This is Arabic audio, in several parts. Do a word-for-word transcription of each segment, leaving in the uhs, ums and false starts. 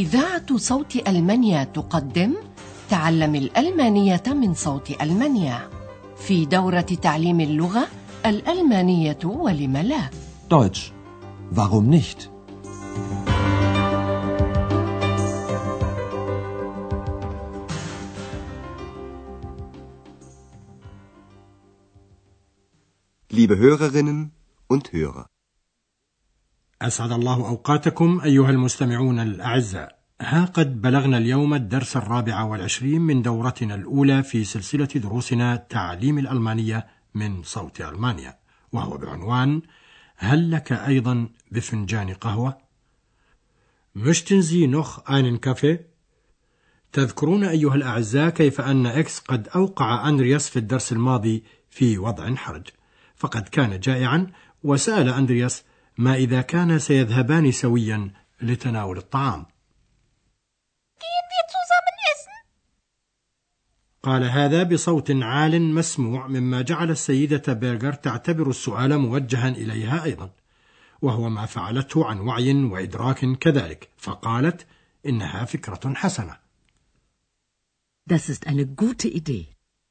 إذاعة صوت ألمانيا تقدم تعلم الألمانية من صوت ألمانيا في دورة تعليم اللغة الألمانية ولم لا. Deutsch. Warum nicht? Liebe Hörerinnen und Hörer. أسعد الله أوقاتكم أيها المستمعون الأعزاء. ها قد بلغنا اليوم الدرس الرابع والعشرين من دورتنا الأولى في سلسلة دروسنا تعليم الألمانية من صوت ألمانيا، وهو بعنوان هل لك أيضا بفنجان قهوة؟ Möchten Sie noch einen Kaffee؟ تذكرون أيها الأعزاء كيف أن إكس قد أوقع أندرياس في الدرس الماضي في وضع حرج، فقد كان جائعا وسأل أندرياس ما إذا كان سيذهبان سويا لتناول الطعام. قال هذا بصوت عال مسموع، مما جعل السيدة بيرغر تعتبر السؤال موجها إليها أيضا، وهو ما فعلته عن وعي وإدراك كذلك، فقالت إنها فكرة حسنة. Das ist eine gute Idee.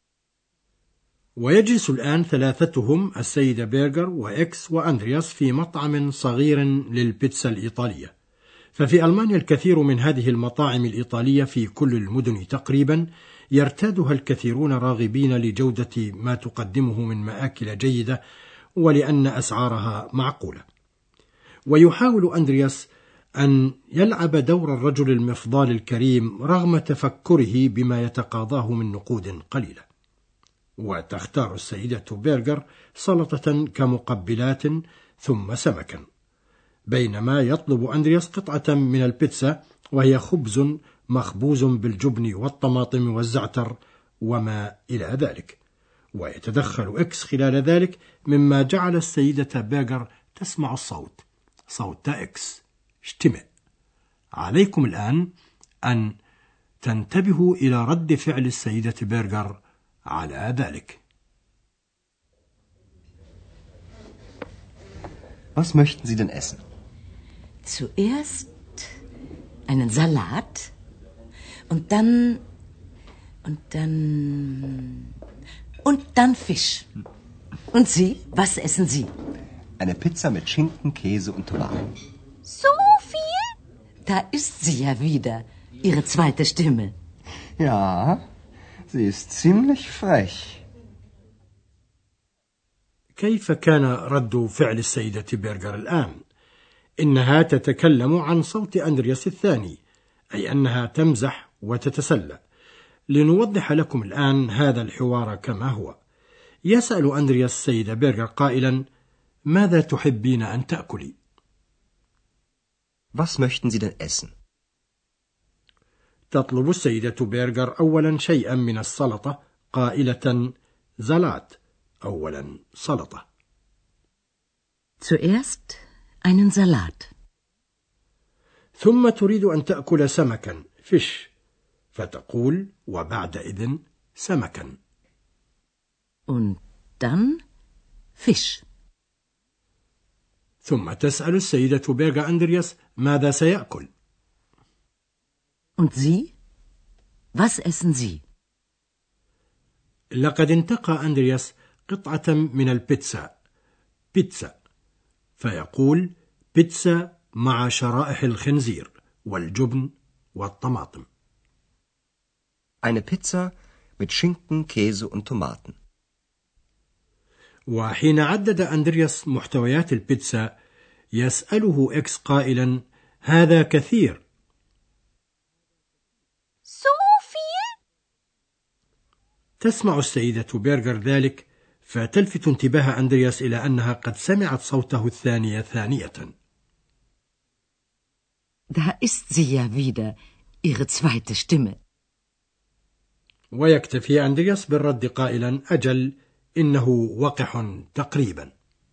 ويجلس الآن ثلاثتهم السيدة بيرغر وإكس وأندرياس في مطعم صغير للبيتزا الإيطالية. ففي ألمانيا الكثير من هذه المطاعم الإيطالية في كل المدن تقريبا يرتادها الكثيرون راغبين لجودة ما تقدمه من مآكل جيدة ولأن أسعارها معقولة. ويحاول أندرياس أن يلعب دور الرجل المفضال الكريم رغم تفكره بما يتقاضاه من نقود قليلة. وتختار السيدة بيرغر سلطة كمقبلات ثم سمكا، بينما يطلب أندرياس قطعة من البيتزا وهي خبز مخبوز بالجبن والطماطم والزعتر وما إلى ذلك. ويتدخل إكس خلال ذلك، مما جعل السيدة بيرغر تسمع الصوت صوت إكس اشتمع. عليكم الآن أن تنتبهوا إلى رد فعل السيدة بيرغر على ذلك. Was möchten Sie denn essen? Zuerst einen Salat und dann und dann und dann Fisch. Und Sie, was essen Sie? Eine Pizza mit Schinken, Käse und Tomaten. So viel? Da ist sie ja wieder, Ihre zweite Stimme. Ja, sie ist ziemlich frech. كيف كان رد فعل السيدة بيرغر الآن؟ إنها تتكلم عن صوت أندرياس الثاني، أي أنها تمزح وتتسلى. لنوضح لكم الآن هذا الحوار كما هو. يسأل أندرياس السيدة بيرغر قائلا: ماذا تحبين أن تأكلي؟ Was möchten Sie denn essen? تطلب السيدة بيرغر أولا شيئا من السلطة قائلة زلات، أولا سلطة. Zuerst einen Salat. ثم تريد أن تأكل سمكا فيش، فتقول وبعدئذ سمكا. Und dann Fisch. ثم تسأل السيدة بيرغر أندرياس ماذا سيأكل. Und Sie? Was essen Sie? لقد انتقى أندرياس قطعة من البيتزا بيتزا، فيقول بيتزا مع شرائح الخنزير والجبن والطماطم. Eine Pizza mit Schinken, Käse und Tomaten. وحين عدد أندرياس محتويات البيتزا يسأله إكس قائلا: هذا كثير. So viel? تسمع السيدة بيرغر ذلك، فتلفت انتباه أندرياس إلى أنها قد سمعت صوته الثانية ثانية. Da ist sie ja wieder, Ihre zweite Stimme. ويكتفي أندرياس بالرد قائلا: أجل، إنه وقح تقريبا.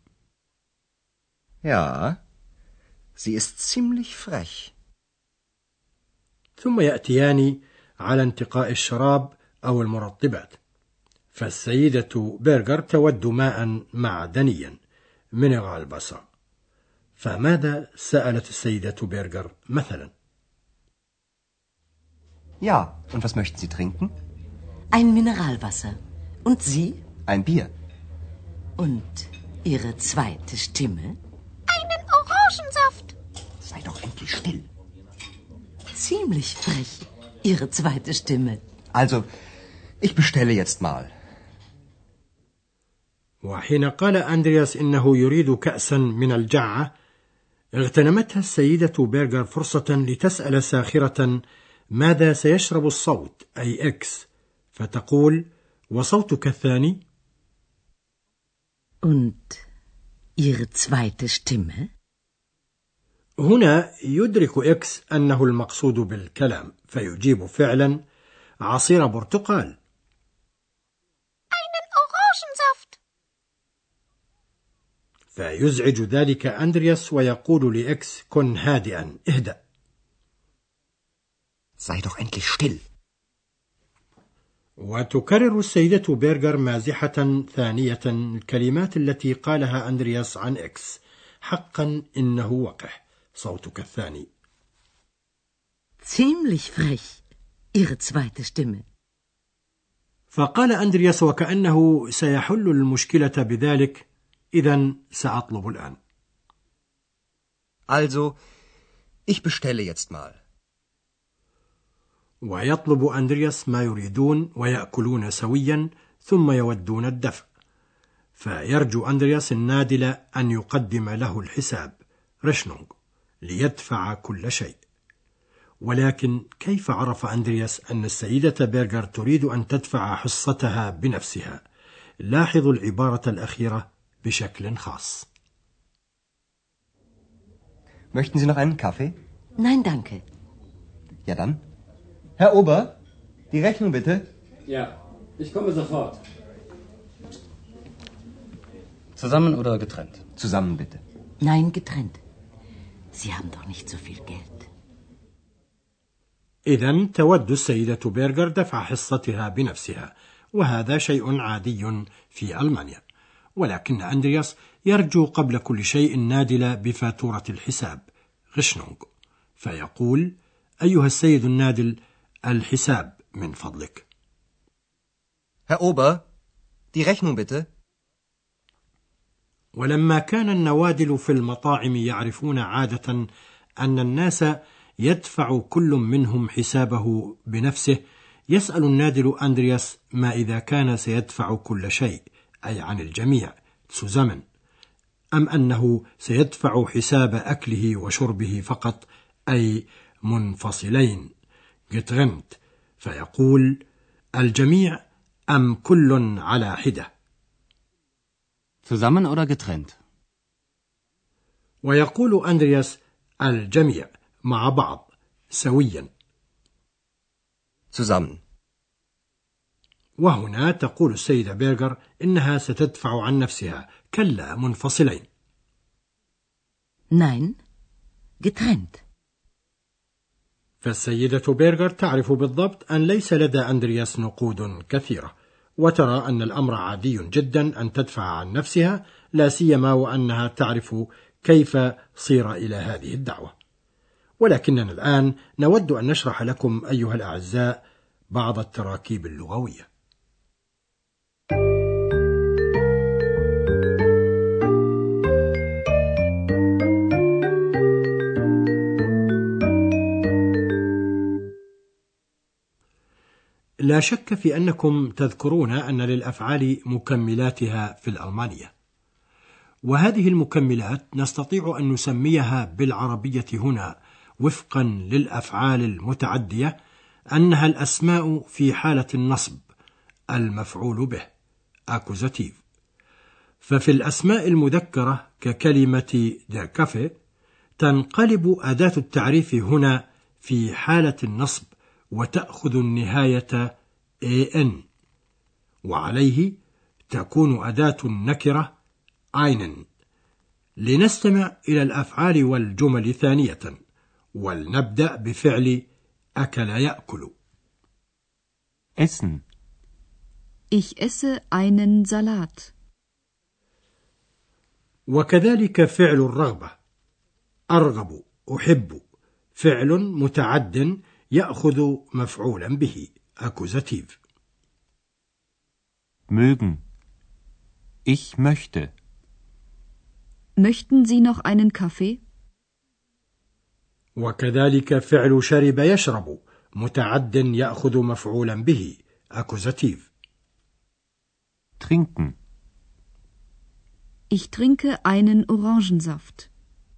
Ja, sie ist ziemlich frech. ثم يأتيان على انتقاء الشراب أو المرطبات، فالسيدة بيرغر تود ماء معدنيا مينيرال باسا. فماذا سألت السيدة بيرغر مثلا؟ Ja, und was möchten Sie trinken? Ein Mineralwasser. Und Sie? Ein Bier. Und Ihre zweite Stimme? Einen Orangensaft. Sei doch endlich still. Ziemlich frech, Ihre zweite Stimme. Also, ich bestelle jetzt mal. وحين قال أندرياس إنه يريد كأسا من الجعة، اغتنمتها السيدة بيرغر فرصة لتسأل ساخرة ماذا سيشرب الصوت أي إكس، فتقول: وصوتك الثاني؟ Und Ihre zweite Stimme? هنا يدرك إكس أنه المقصود بالكلام، فيجيب فعلا: عصير برتقال. Einen Orangensaft. فيزعج ذلك أندرياس ويقول لإكس: كن هادئا، اهدأ. Sei doch endlich still. وتكرر السيدة بيرغر مازحة ثانية الكلمات التي قالها أندرياس عن إكس: حقا إنه وقح، صوتك الثاني. Ziemlich frech, Ihre zweite Stimme. فقال أندرياس وكأنه سيحل المشكلة بذلك: إذن سأطلب الآن. Also, ich bestelle jetzt mal. ويطلب أندرياس ما يريدون ويأكلون سويا، ثم يودون الدفع. فيرجو أندرياس النادل أن يقدم له الحساب ريشنونغ ليدفع كل شيء. ولكن كيف عرف أندرياس أن السيدة بيرغر تريد أن تدفع حصتها بنفسها؟ لاحظوا العبارة الأخيرة بشكل خاص. Möchten Sie noch einen Kaffee? Nein, danke. Ja dann. Herr Ober, die Rechnung bitte. Ja, ich komme sofort. Zusammen oder getrennt? Zusammen bitte. Nein, getrennt. Sie haben doch nicht so viel Geld. إذن تود السيدة بيرغر دفع حصتها بنفسها، وهذا شيء عادي في ألمانيا. ولكن أندرياس يرجو قبل كل شيء نادل بفاتورة الحساب غشنونغ، فيقول: أيها السيد النادل، الحساب من فضلك. Herr Ober, die Rechnung bitte. ولما كان النوادل في المطاعم يعرفون عادة أن الناس يدفع كل منهم حسابه بنفسه، يسأل النادل أندرياس ما إذا كان سيدفع كل شيء، أي عن الجميع، تسوزمن، أم أنه سيدفع حساب أكله وشربه فقط، أي منفصلين، getrennt، فيقول: الجميع أم كل على حدة. Zusammen oder getrennt? ويقول أندرياس: الجميع مع بعض سويا. Zusammen. وهنا تقول السيدة بيرغر إنها ستدفع عن نفسها، كلا، منفصلين. Nein, getrennt. فالسيدة بيرغر تعرف بالضبط أن ليس لدى أندرياس نقود كثيرة، وترى أن الأمر عادي جدا أن تدفع عن نفسها، لا سيما وأنها تعرف كيف صير إلى هذه الدعوة. ولكننا الآن نود أن نشرح لكم أيها الأعزاء بعض التراكيب اللغوية. لا شك في أنكم تذكرون أن للأفعال مكملاتها في الألمانية، وهذه المكملات نستطيع أن نسميها بالعربية هنا وفقا للأفعال المتعدية أنها الأسماء في حالة النصب، المفعول به accusative. ففي الأسماء المذكرة ككلمة der Kaffee تنقلب أداة التعريف هنا في حالة النصب وتأخذ النهاية an، وعليه تكون أداة النكرة einen. لنستمع إلى الأفعال والجمل ثانية، ولنبدأ بفعل أكل يأكل. Essen. Ich esse einen Salat. وكذلك فعل الرغبة، أرغب، أحب، فعل متعد يأخذ مفعولا به Akkusativ. Mögen. Ich möchte. Möchten Sie noch einen Kaffee? وكذلك فعل شرب يشرب متعد يأخذ مفعولا به Akkusativ. Trinken. Ich trinke einen Orangensaft.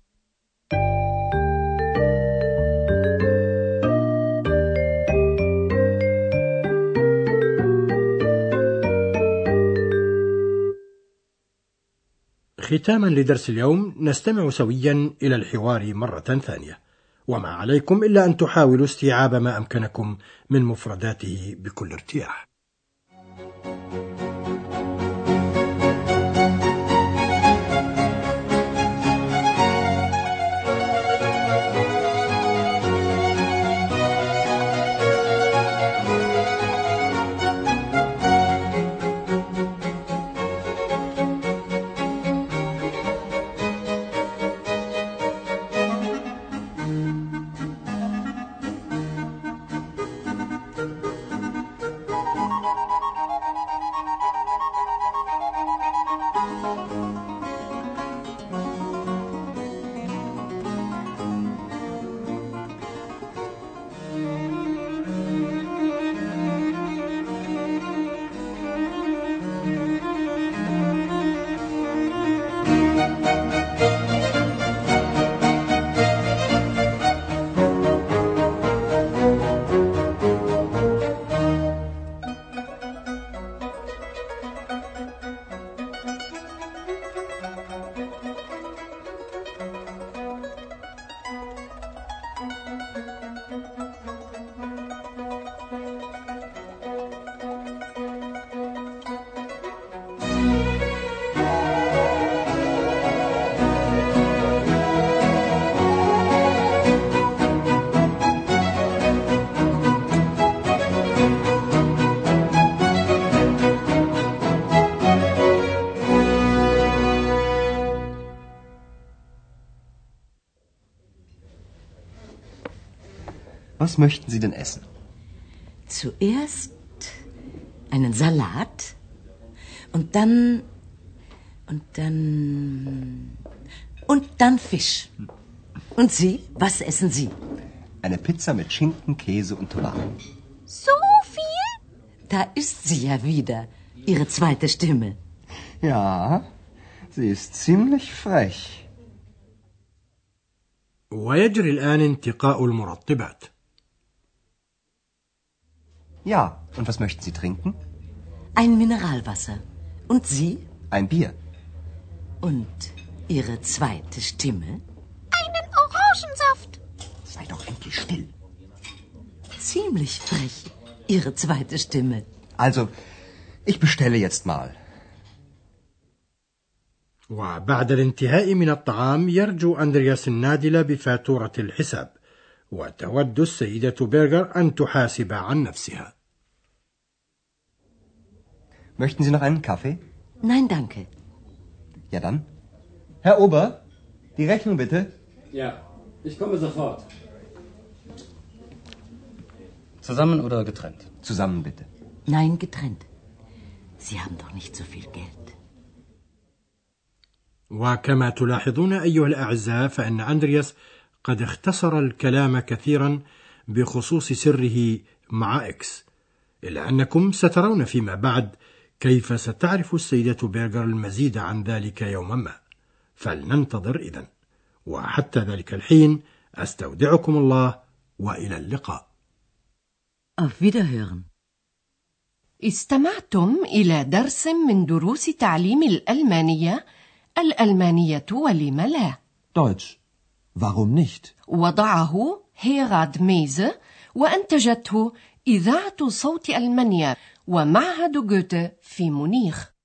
ختاما لدرس اليوم نستمع سويا إلى الحوار مرة ثانية، وما عليكم إلا أن تحاولوا استيعاب ما أمكنكم من مفرداته بكل ارتياح. Was möchten Sie denn essen? Zuerst einen Salat und dann und dann und dann Fisch. Und Sie, was essen Sie? Eine Pizza mit Schinken, Käse und Tomaten. So viel? Da ist sie ja wieder, Ihre zweite Stimme. Ja, sie ist ziemlich frech. ويجري الآن انتقاء المرطبات. Ja, und was möchten Sie trinken? Ein Mineralwasser. Und Sie? Ein Bier. Und Ihre zweite Stimme? Einen Orangensaft. Sei doch endlich still. Ziemlich frech, Ihre zweite Stimme. Also, ich bestelle jetzt mal. وبعد الانتهاء من الطعام يرجو أندرياس النادلة بفاتورة الحساب، وتود السيدة بيرغر أن تحاسب عن نفسها. Möchten Sie noch einen Kaffee? Nein, danke. Ja dann. Herr Ober, die Rechnung bitte. Ja, ich komme sofort. Zusammen oder getrennt? Zusammen bitte. Nein, getrennt. Sie haben doch nicht so viel Geld. وكما تلاحظون أيها الأعزاء فإن أندرياس قد اختصر الكلام كثيرا بخصوص سره مع إكس، إلا أنكم سترون فيما بعد كيف ستعرف السيدة بيرغر المزيد عن ذلك يوما ما، فلننتظر إذن، وحتى ذلك الحين أستودعكم الله وإلى اللقاء. Auf Wiederhören. استمعتم إلى درس من دروس تعليم الألمانية الألمانية ولم لا. Deutsch. Warum nicht? وضعه هيراد ميزه وأنتجته إذاعة صوت ألمانيا ومعهد جوته في مونيخ.